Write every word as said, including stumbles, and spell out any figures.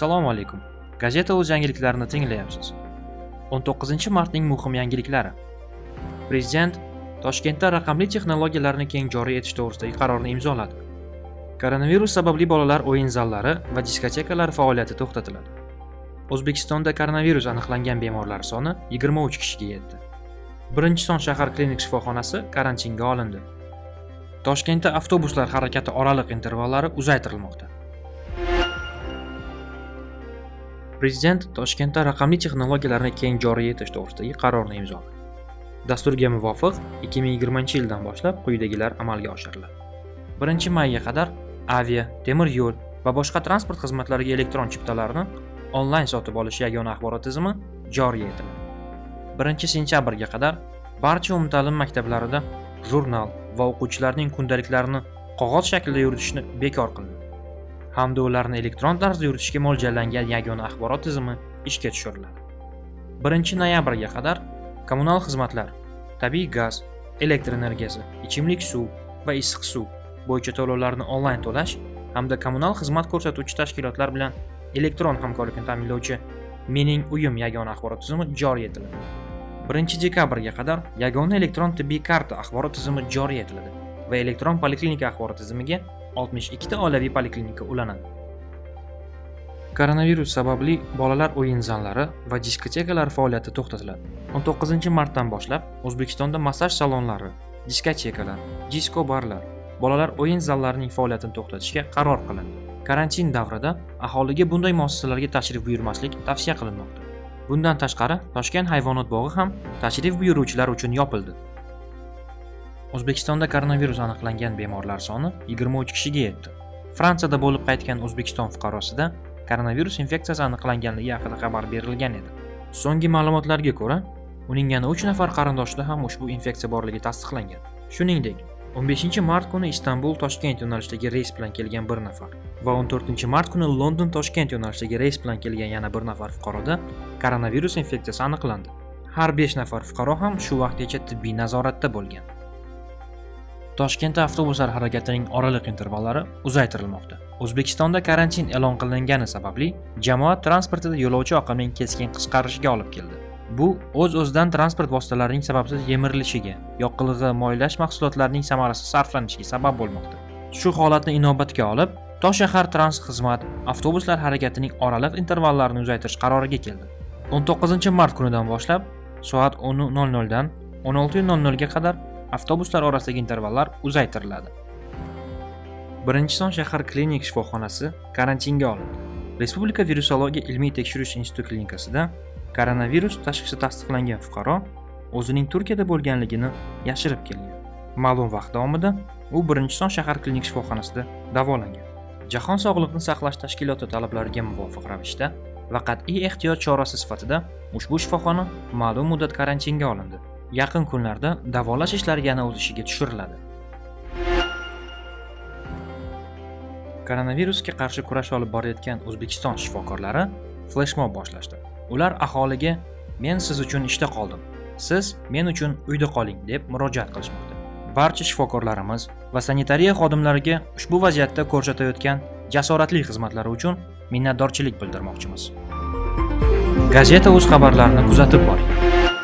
Assalomu alaykum. Gazeta o'z yangiliklarini tinglayapsiz. o'n to'qqizinchi martning muhim yangiliklari. Prezident Toshkentda raqamli texnologiyalarni keng joriy etish to'g'risidagi qarorni imzoladi. Koronavirus sababli bolalar o'yin zallari va diskotekalar faoliyati to'xtatiladi. O'zbekistonda koronavirus aniqlangan bemorlar soni yigirma uch kishiga yetdi. Birinchi son shahar klinik shifoxonasi karantinga olindi. Toshkentda avtobuslar harakati oraliq intervallari uzaytirilmoqda. Prezident Toshkentda raqamli texnologiyalarni keng joriy etish to'g'risidagi qarorni imzoladi. Dasturga muvofiq ikki ming yigirmanchi yildan boshlab quyidagilar amalga oshiriladi. birinchi mayga qadar avia, temir yo'l va boshqa transport xizmatlariga elektron chiptalarni onlayn sotib olish yagona axborot tizimi joriy etiladi. birinchi sentyabrga qadar barcha umumta'lim maktablarida jurnal va o'quvchilarning kundaliklarini qog'oz shaklda yuritishni bekor qildi. Hamda ularni elektron tarzda yuritishga mo'ljallangan yagona axborot tizimi ishga tushiriladi. birinchi noyabrga qadar kommunal xizmatlar, tabiiy gaz, elektr energiyasi, ichimlik suv va issiq suv bo'yicha to'lovlarni onlayn to'lash hamda kommunal xizmat ko'rsatuvchi tashkilotlar bilan elektron hamkorlikni ta'minlovchi Mening uyim yagona axborot tizimi joriy etiladi. birinchi dekabrga qadar yagona elektron tibbiy karta axborot tizimi joriy etiladi va elektron poliklinika axborot tizimiga oltmish ikkita oilaviy poliklinika ulanadi. Koronavirus sababli bolalar o'yin zallari va diskotekalar faoliyati to'xtatiladi. o'n to'qqizinchi martdan boshlab O'zbekistonda massaj salonlari, diskotekalar, disko barlar, bolalar o'yin zallarining faoliyatini to'xtatishga qaror qilindi. Karantin davrida aholiga bunday muassasalarga tashrif buyurmaslik tavsiya qilinmoqda. Bundan tashqari, Toshkent hayvonot bog'i ham tashrif buyuruvchilar uchun yopildi. O'zbekistonda koronavirus aniqlangan bemorlar soni yigirma uch kishiga yetdi. Fransiyada bo'lib qaytgan O'zbekiston fuqarosida koronavirus infeksiyasi aniqlanganligi haqida xabar berilgan edi. So'nggi ma'lumotlarga ko'ra, uning yana uch nafar qarindoshida ham ushbu infeksiya borligi tasdiqlangan. Shuningdek, o'n beshinchi mart kuni Istanbul-Toshkent yo'nalishidagi reys bilan kelgan bir nafar va o'n to'rtinchi mart kuni London-Toshkent yo'nalishidagi reys bilan kelgan yana bir nafar fuqaroda koronavirus infeksiyasi aniqlandi. Har besh nafar fuqaro ham shu vaqtgacha tibbiy nazoratda bo'lgan. Toshkentda avtobuslar harakatining oraliq intervallari uzaytirilmoqda. O'zbekistonda karantin e'lon qilingani sababli jamoat transportida yo'lovchi oqimining keskin qisqarishiga olib keldi. Bu o'z-o'zidan transport vositalarining sababsiz yemirilishiga, yoqilg'i, moylash mahsulotlarining samarasiz sarflanishiga sabab bo'lmoqda. Shu holatni inobatga olib, Toshshahar Transport xizmat avtobuslar harakatining oraliq intervallarini uzaytirish qaroriga keldi. o'n to'qqizinchi mart kunidan boshlab soat o'n nol nol dan o'n olti nol nol ga qadar avtobuslar orasidagi intervallar uzaytiriladi. Birinchi son shahar klinik shifoxonasi karantinga olindi. Respublika virusologiya ilmiy tekshirish instituti klinikasida koronavirus tashxisi tasdiqlangan fuqaro o'zining Turkiyada bo'lganligini yashirib kelgan. Ma'lum vaqt davomida u birinchi son shahar klinik shifoxonasida davolangan. Jahon sog'liqni saqlash tashkiloti talablariga muvofiq ravishda va qat'iy ehtiyot chorasi sifatida ushbu shifoxona ma'lum muddat karantinga olindi. Yaqin kunlarda davolash ishlari yana o'z ishiga tushiriladi. Koronavirusga qarshi kurash olib borayotgan O'zbekiston shifokorlari fleshmob boshlashdi. Ular aholiga "Men siz uchun ishda qoldim, siz men uchun uyda qoling" deb murojaat qilishmoqda. Barcha shifokorlarimiz va sanitariya xodimlariga ushbu vaziyatda ko'rsatayotgan jasoratli xizmatlari uchun minnatdorchilik bildirmoqchimiz. Gazeta o'z xabarlarini kuzatib boring.